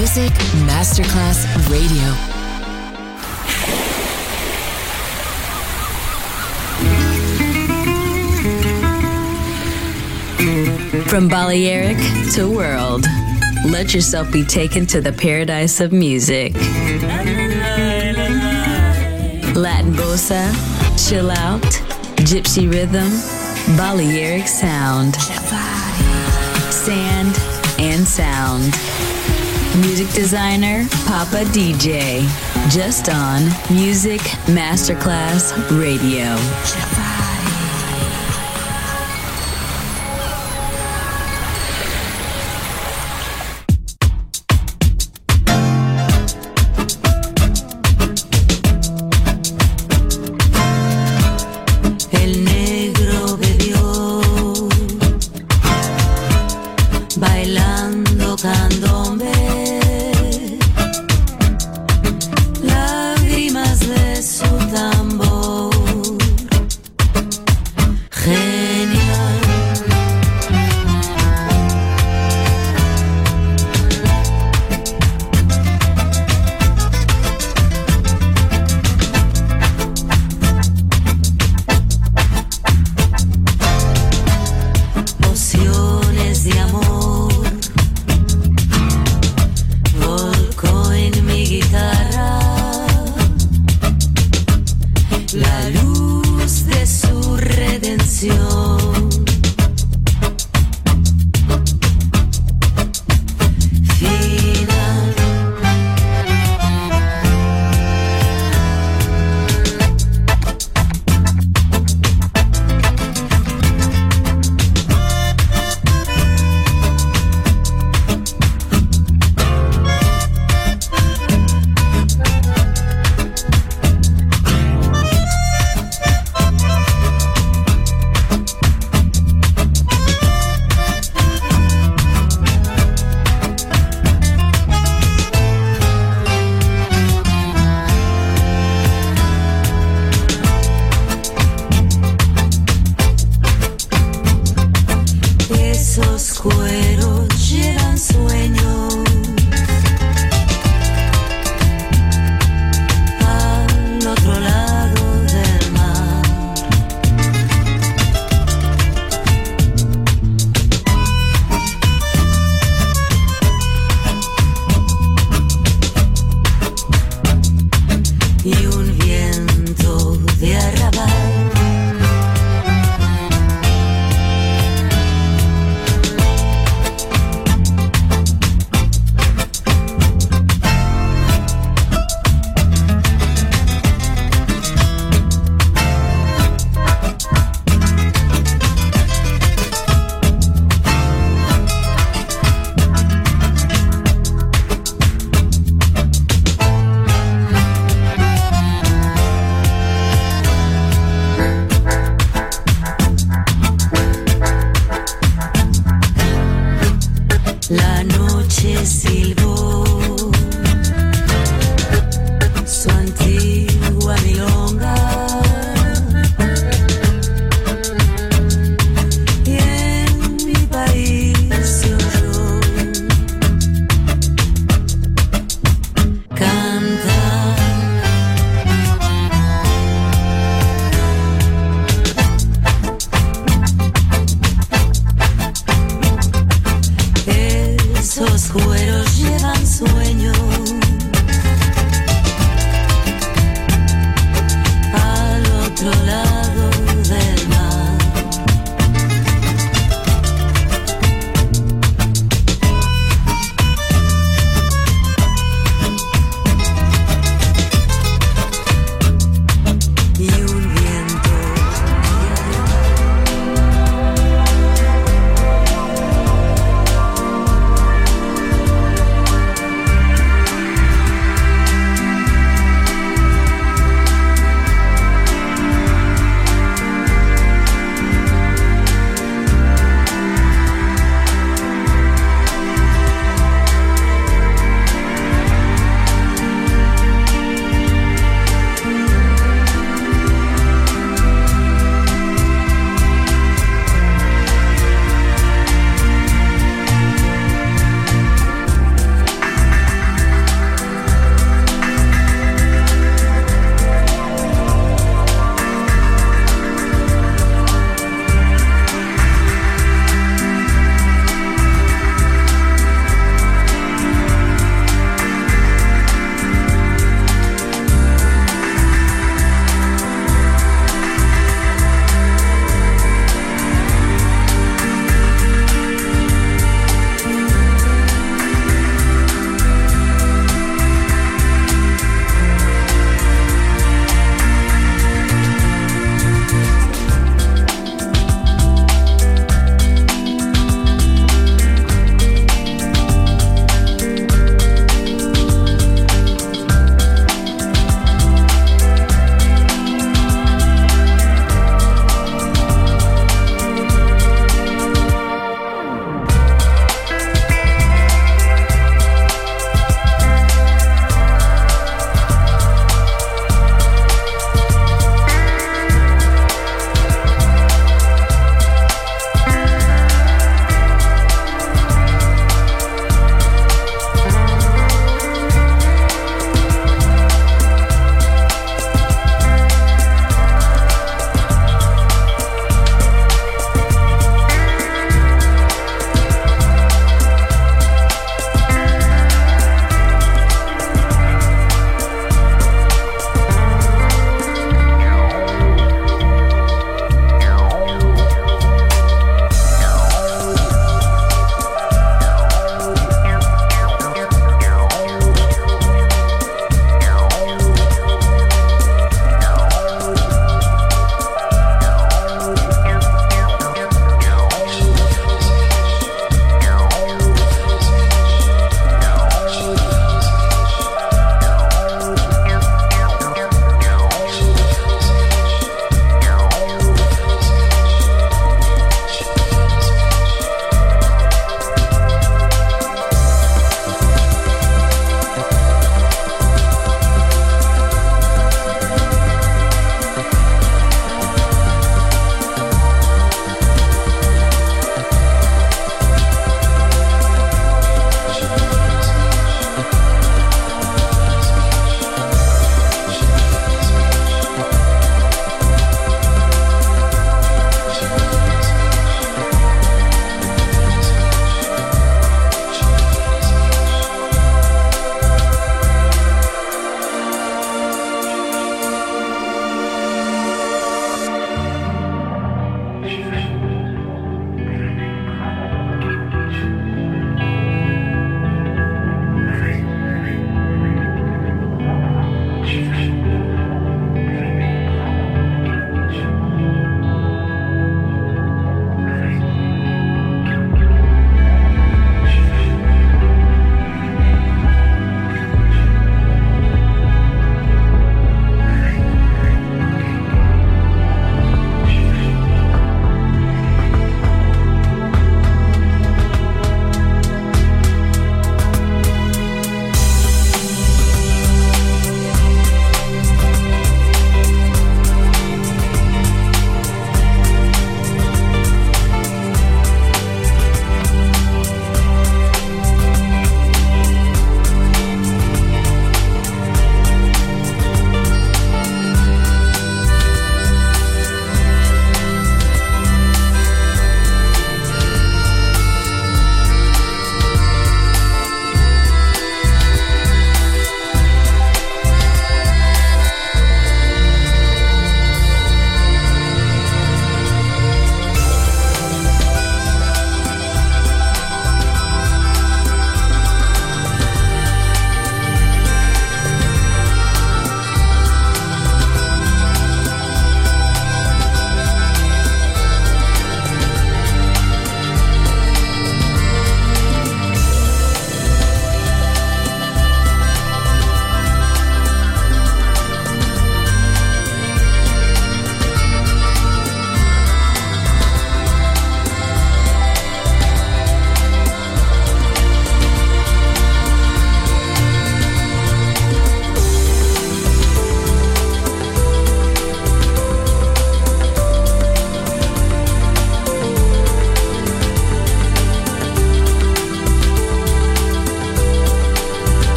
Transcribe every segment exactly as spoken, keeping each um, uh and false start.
Music Masterclass Radio. From Balearic to world, let yourself be taken to the paradise of music. Latin bossa, chill out, gypsy rhythm, Balearic sound, sand and sound. Music designer, Papa D J, just on Music Masterclass Radio.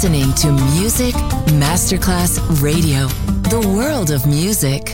listening to Music Masterclass Radio, the world of music.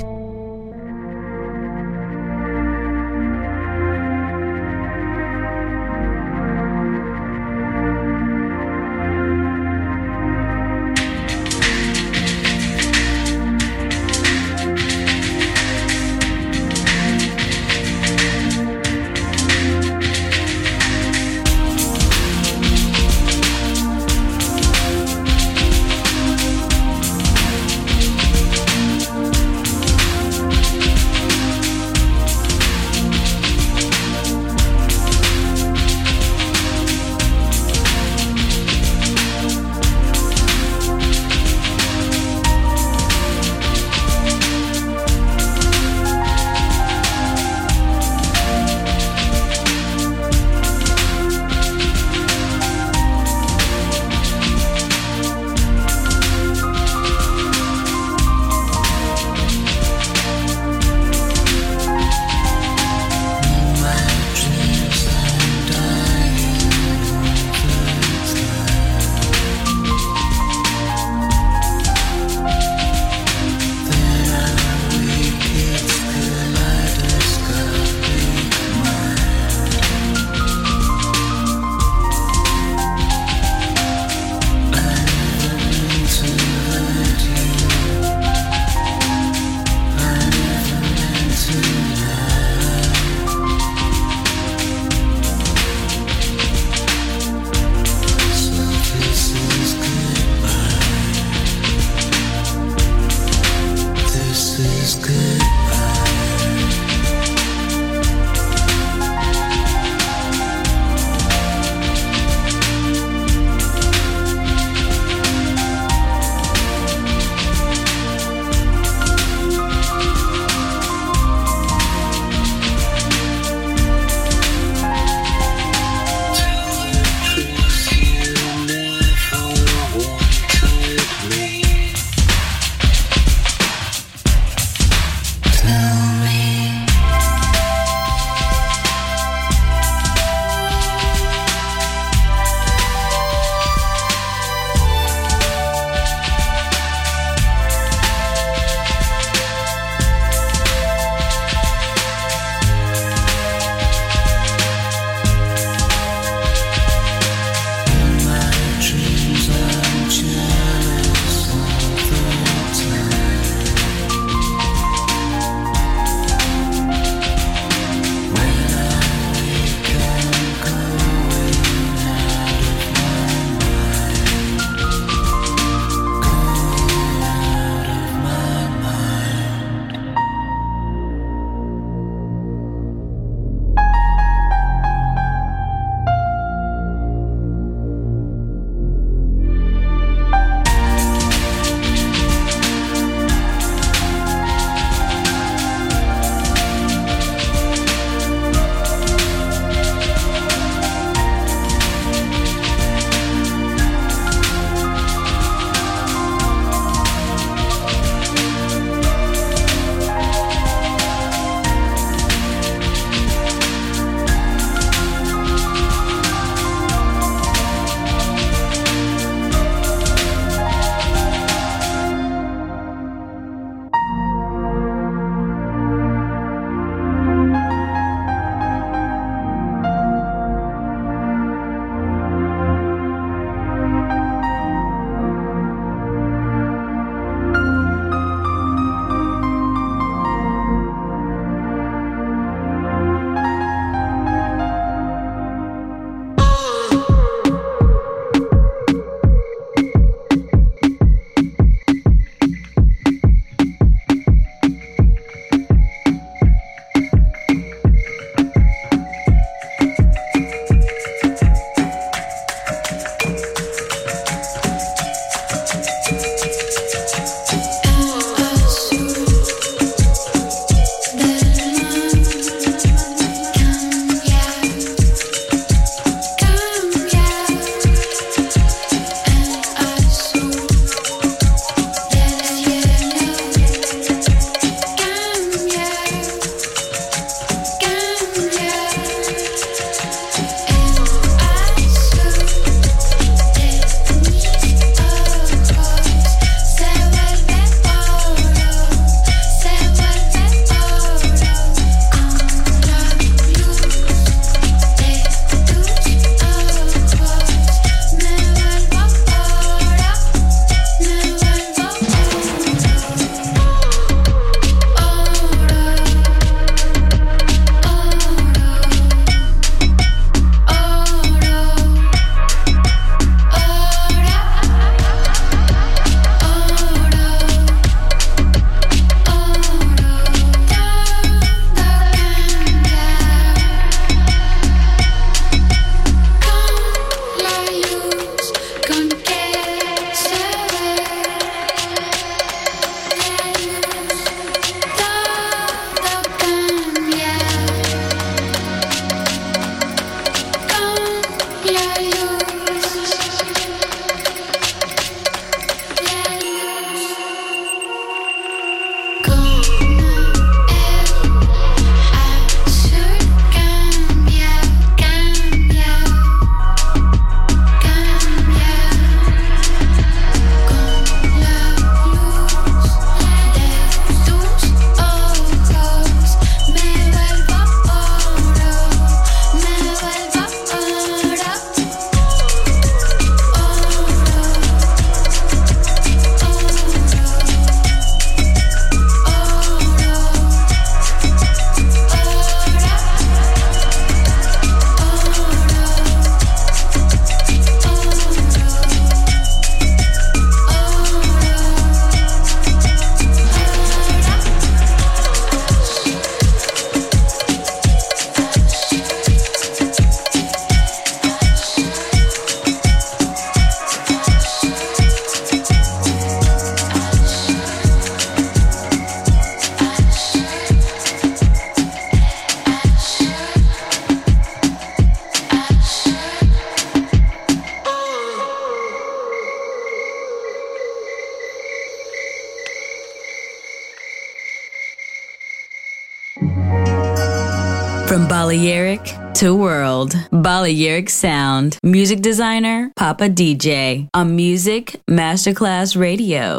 From Balearic to world, Balearic Sound. Music designer, Papa D J. On Music Masterclass Radio.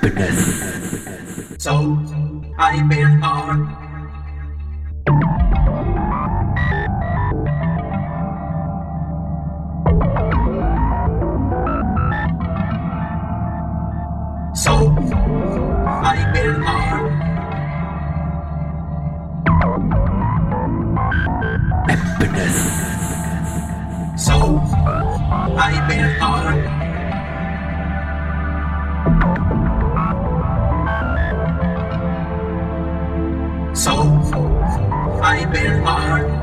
So, I been on. So, I been on. So, I been on. So, I been on.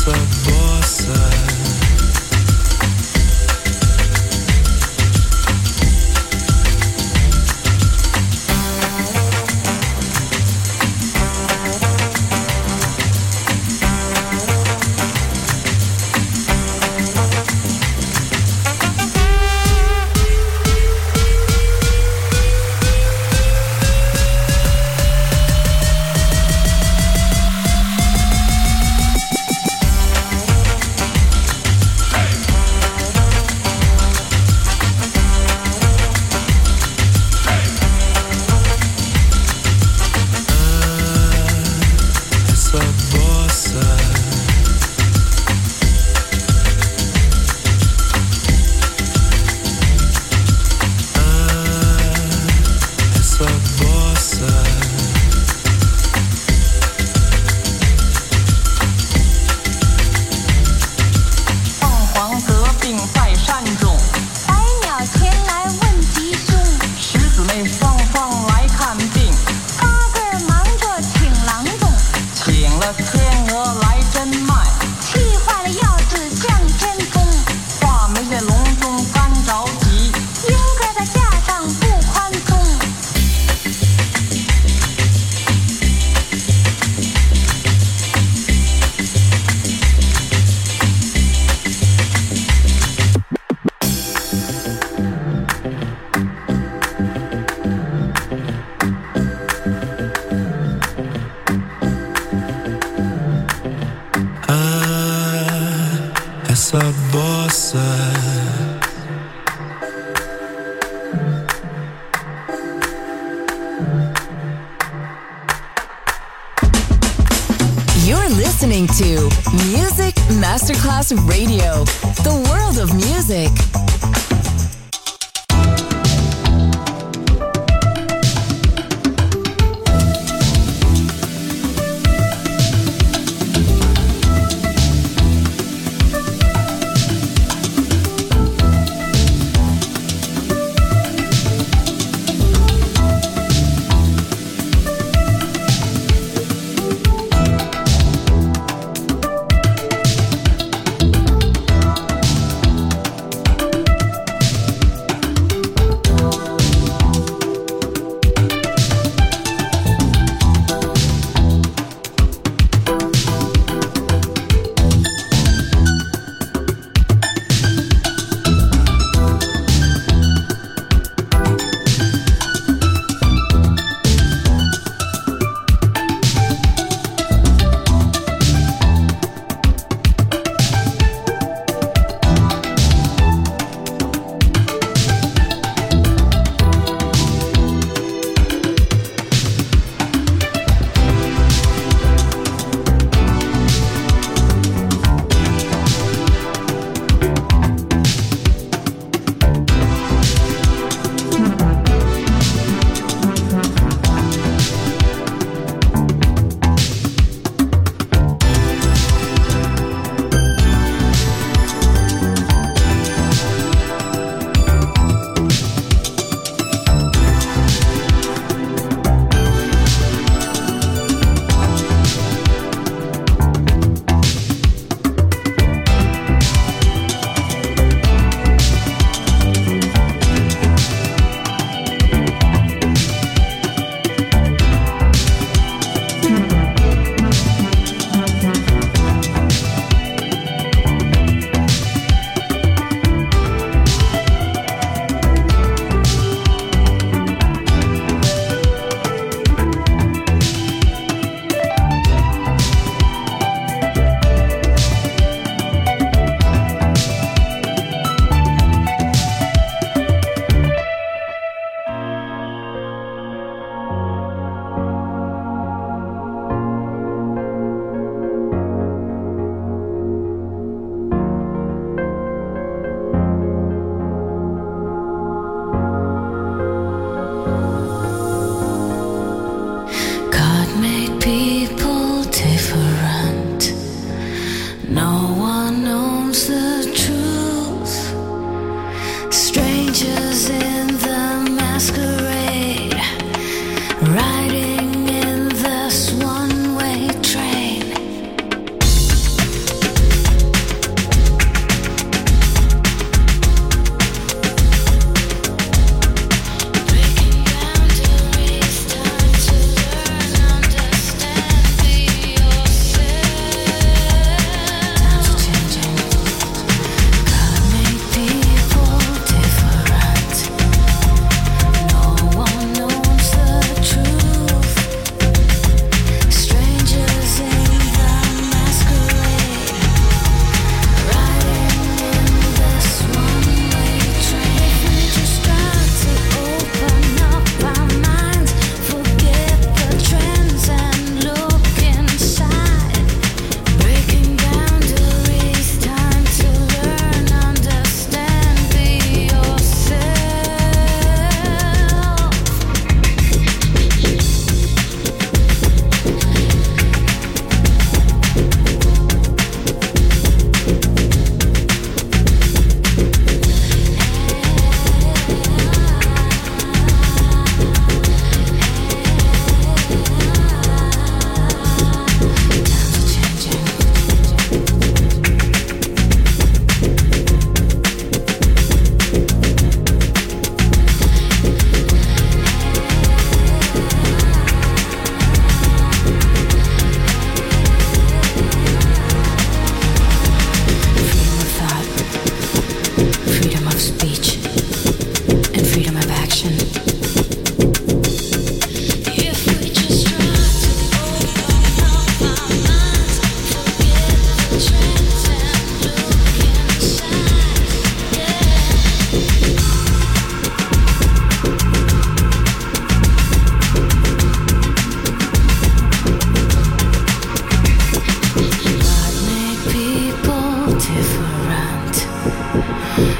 essa bossa. You're listening to Music Masterclass Radio, the world of music.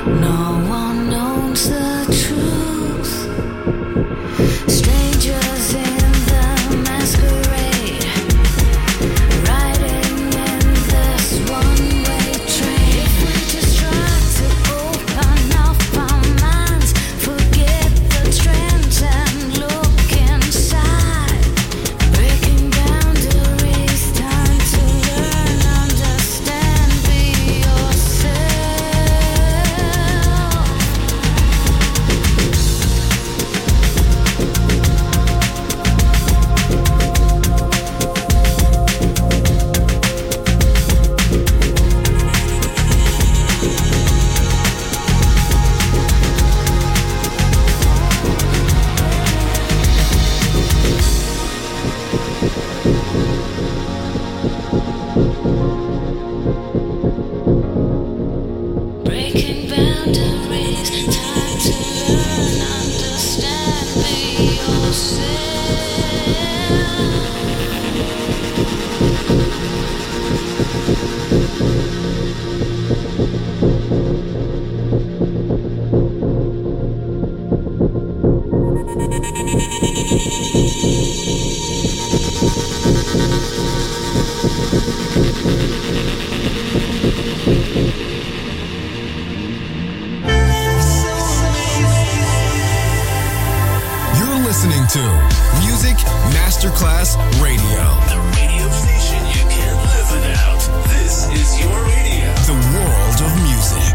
Masterclass Radio. The radio station you can't live without. This is your radio. The world of music.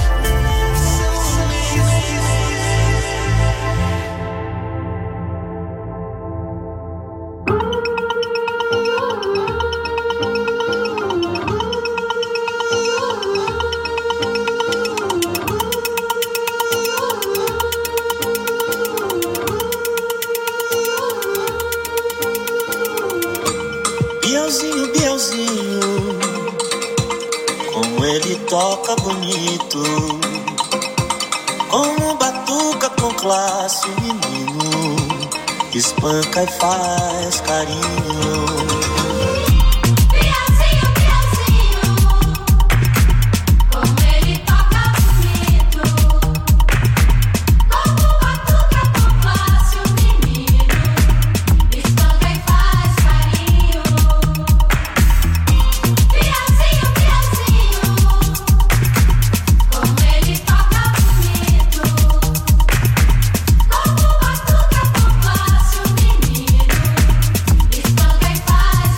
Bielzinho, Bielzinho, como ele toca bonito, como batuca com classe, o menino espanca e faz carinho. Bye.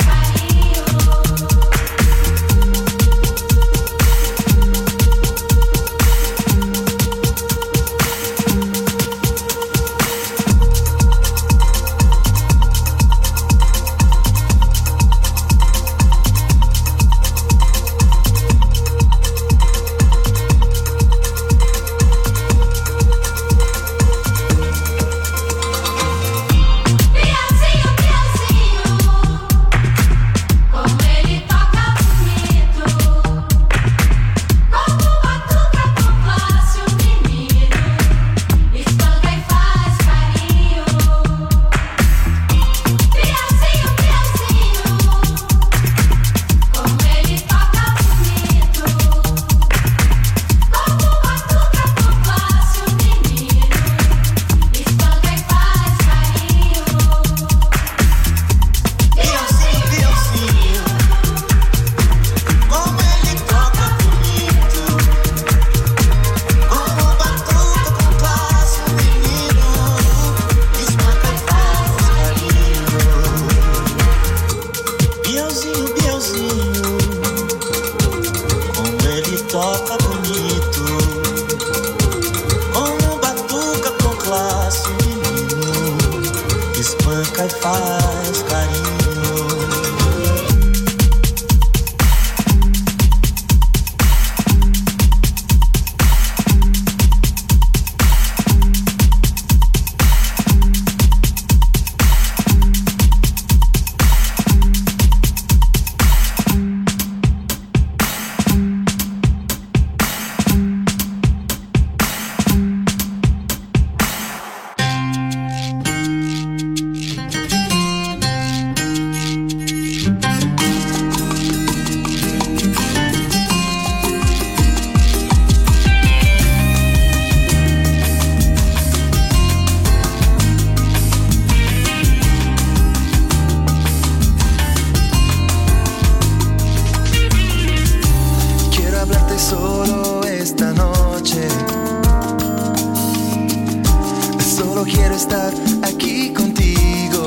estar aquí contigo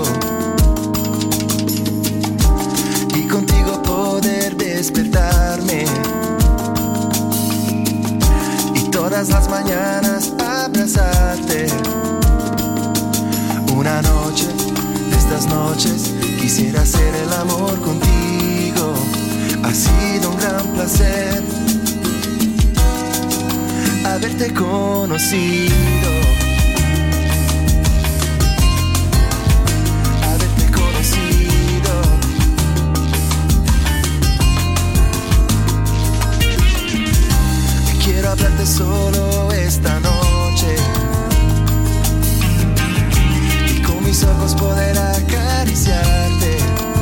y contigo poder despertarme y todas las mañanas abrazarte. Una noche de estas noches quisiera hacer el amor contigo. Ha sido un gran placer haberte conocido. Haberte conocido. Quiero hablarte solo esta noche y con mis ojos poder acariciarte.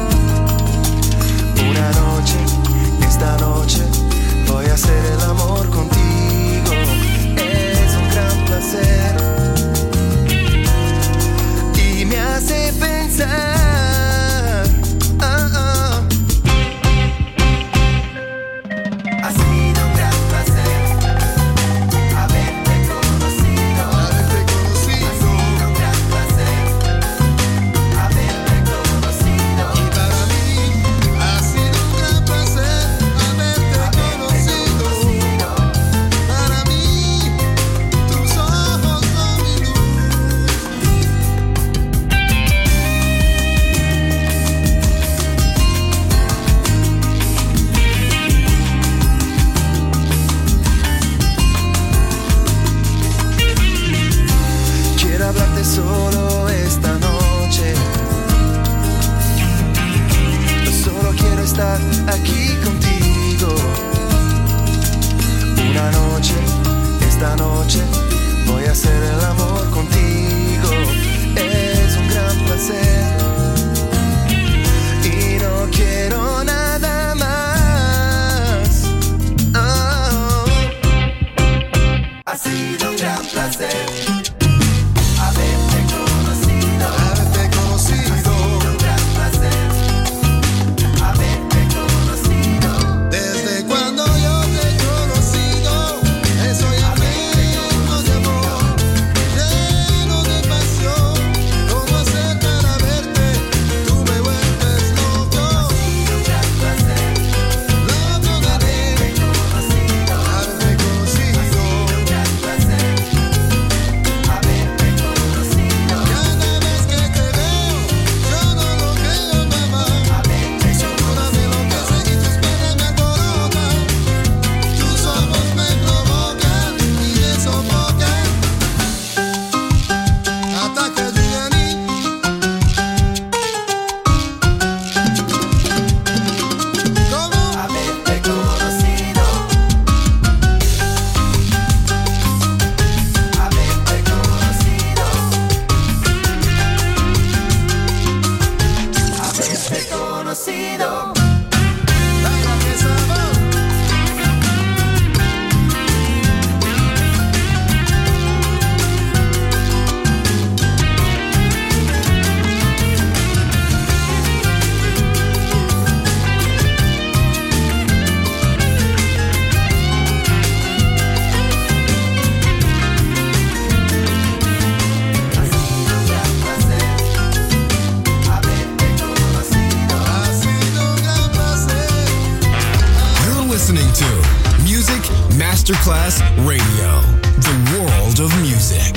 Una noche, esta noche, voy a hacer el amor contigo. Es un gran placer y me hace pensar. Oh, oh. Ha sido un gran placer haberte conocido. Haberte conocido. Ha sido un gran placer haberte conocido. Y para mí ha sido un gran placer haberte conocido. Para mí tus ojos son mi luz. Quiero hablarte solo esta noche. Solo quiero estar aquí contigo. Una noche, esta noche, voy a hacer el amor contigo. Es un gran placer y no quiero nada más. Oh. Ha sido un gran placer haberte conocido. Haberte conocido. Ha sido un gran placer haberte conocido. Desde cuando yo te he conocido, estoy lleno de amor, lleno de pasión. ¿Cómo hacer para verte? Tú me vuelves loco. Ha sido un gran placer loco de haberte conocido. Haberte conocido. Ha sido un gran placer haberte conocido. Cada vez que te veo, yo no lo creo, mamá. Su luna me enloquece y tus penas me alborotan. Tus ojos me provocan y me sofocan. Hasta que llegue a mí. ¿Cómo? Haberte conocido. Haberte conocido. Haberte conocido. Baila que sabor. Ha sido un gran placer haberte conocido. Ha sido un gran placer. You're listening to Music Masterclass Radio, the world of music.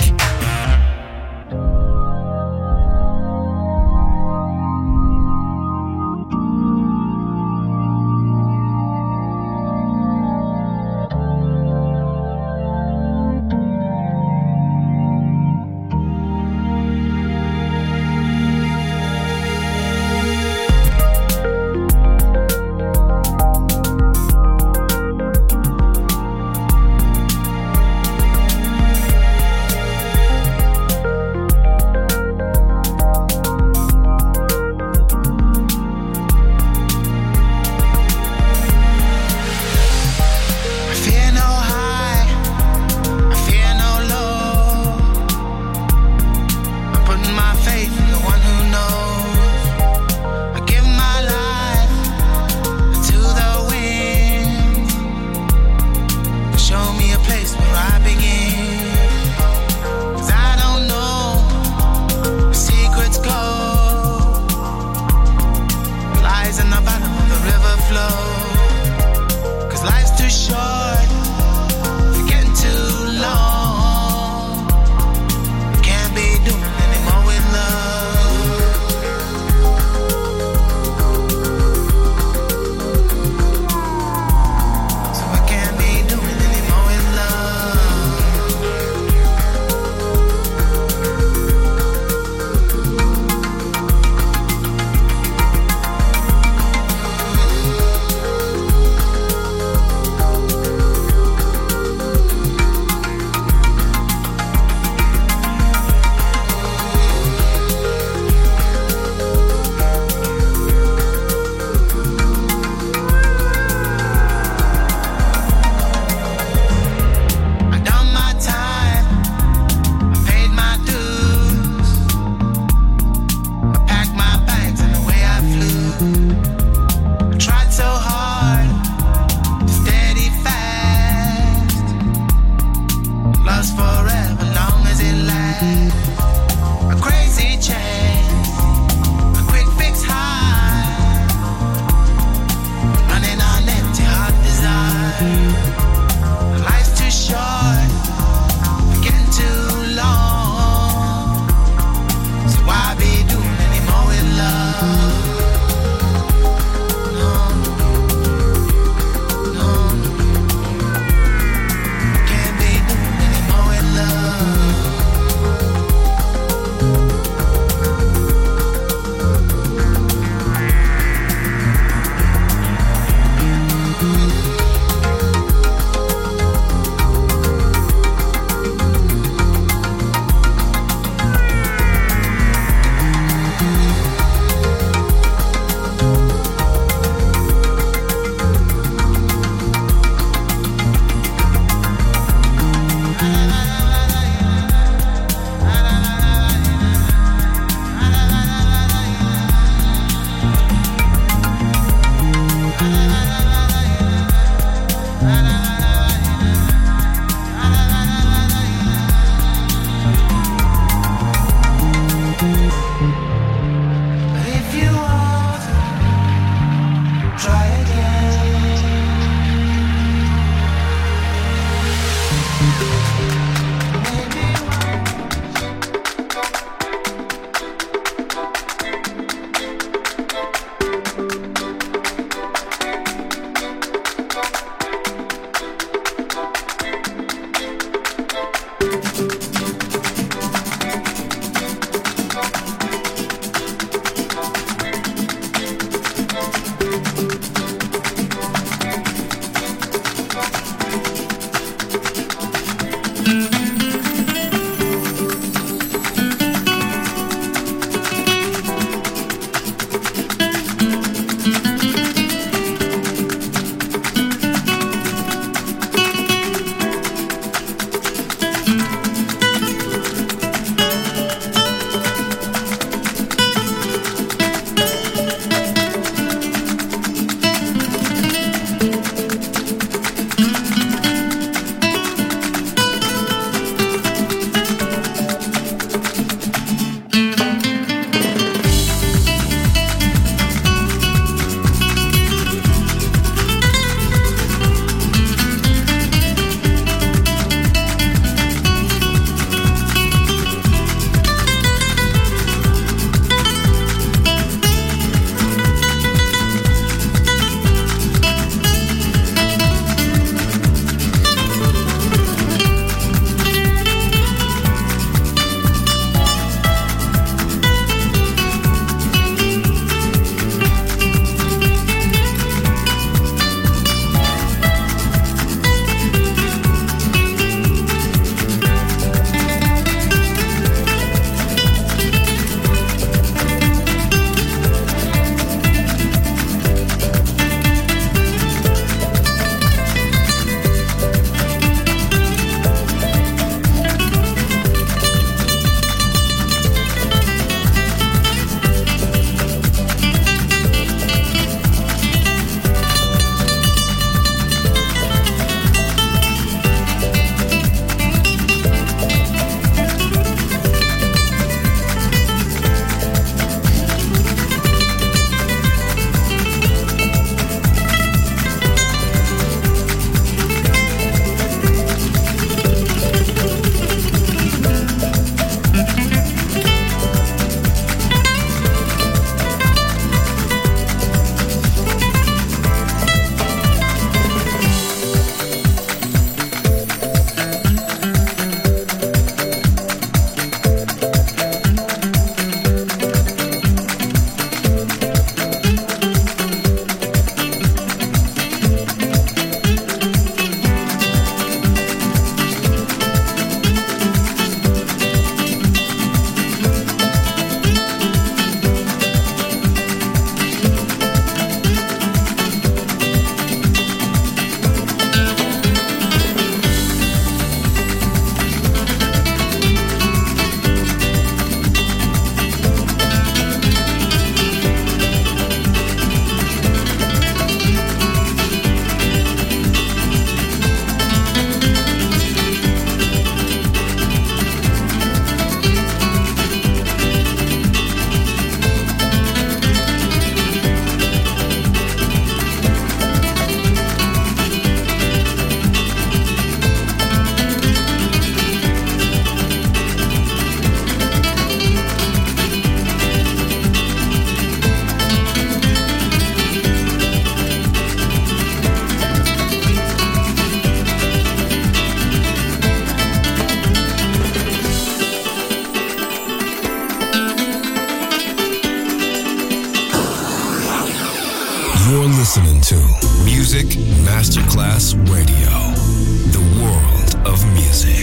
You're listening to Music Masterclass Radio, the world of music.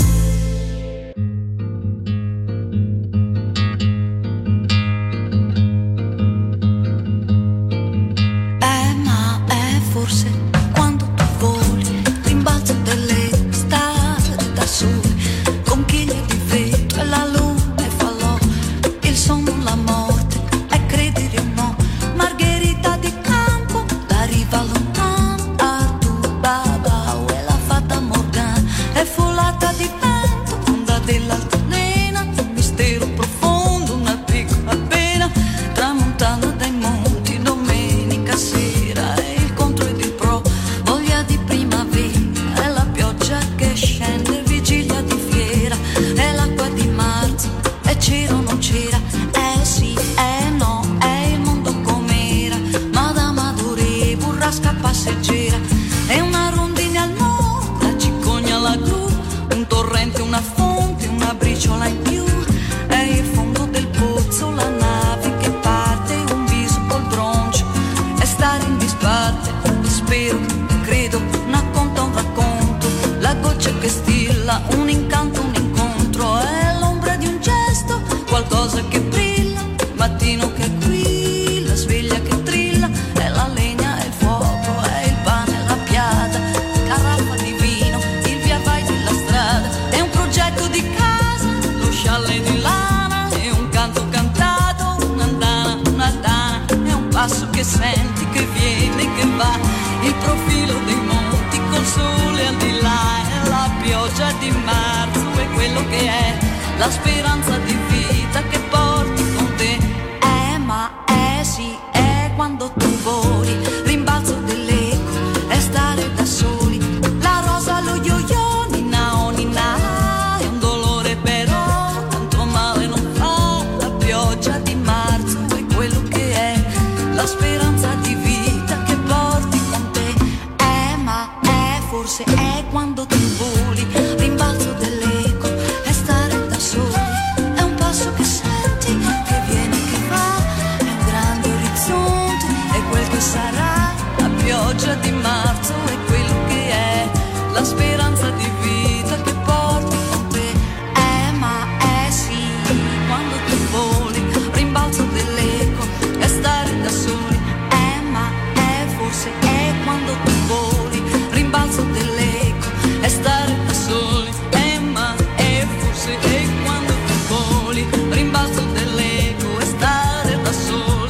Eh, ma è forse quando tu voli, rimbalzo delle strade da sole, conchiglie di vetro e la luna e falò, il sonno, la morte e credere o no, Margherita di campo, la riva lontana, Artù, Babao e la fata Morgana, è folata di la speranza di vita che porti con te. Eh ma eh sì, è quando tu voli, rimbalzo dell'eco, è stare da soli. La rosa, lo yo-yo, ninna oh ninna, è un dolore però, tanto male non fa. La pioggia di marzo è quello che è, la speranza di vita che porti con te. Eh ma è, forse è quando tu voli, rimbalzo dell'eco, è stare da soli. È un passo che senti, che viene, che va, è un grande orizzonte, è quel che sarà. La pioggia di marzo è quello che è, la speranza di vita che porti con te. Eh ma è sì, quando tu voli, rimbalzo dell'eco, è stare da soli. Eh ma è, forse è quando tu voli, rimbalzo dell'eco, è stare da soli. Eh ma è, forse è quando tu voli, rimbalzo dell'eco, è stare da soli.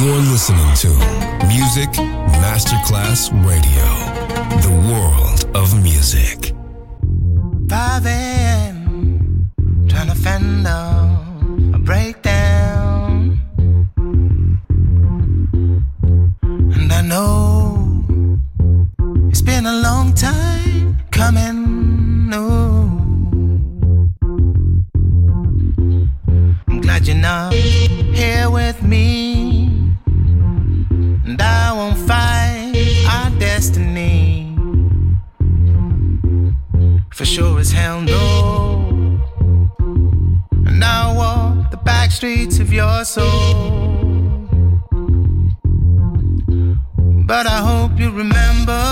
You're listening to Music Masterclass Radio, the world of music. five a.m. trying to fend off a breakdown, and I know it's been a long time coming. No, I'm glad you're not here with me, and I won't fight our destiny. For sure as hell no. And I walk the back streets of your soul, but I hope you remember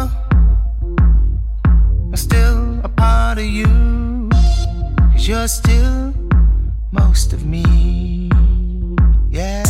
I'm still a part of you, 'cause you're still most of me. Yeah.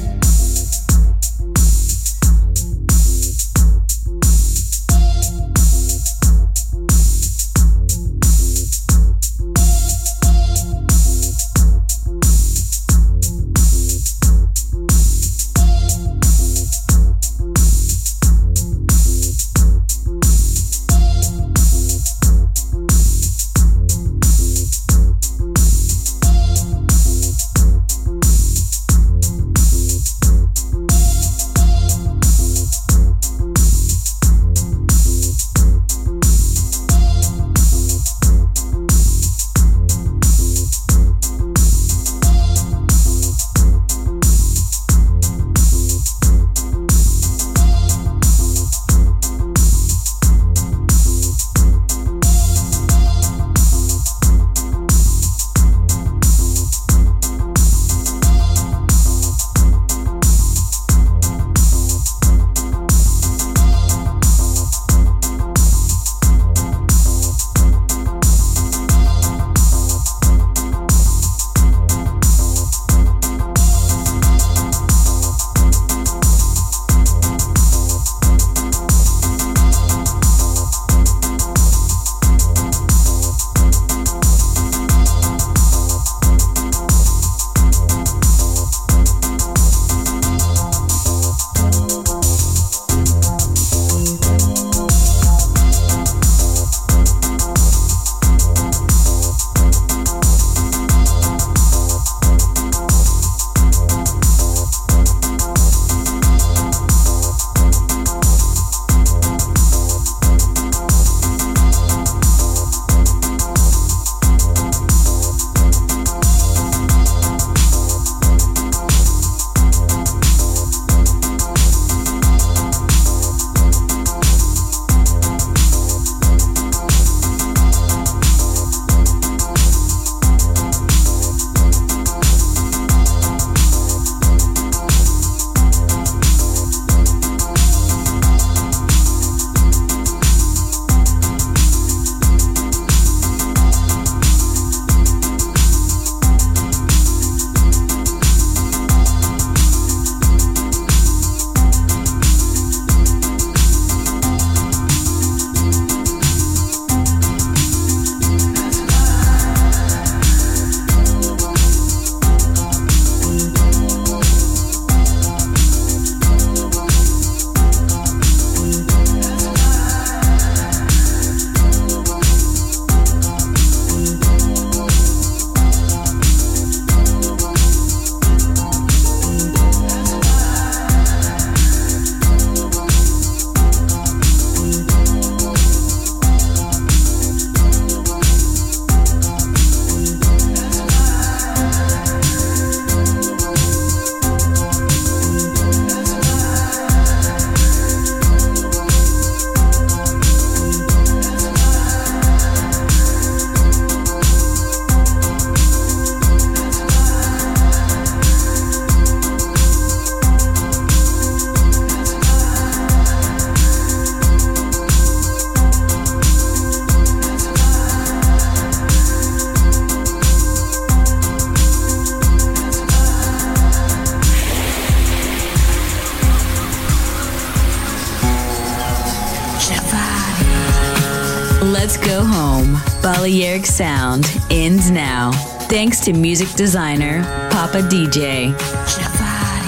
Let's go home. Balearic Sound ends now. Thanks to music designer Papa D J.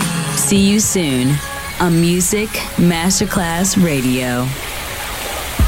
See you soon on Music Masterclass Radio.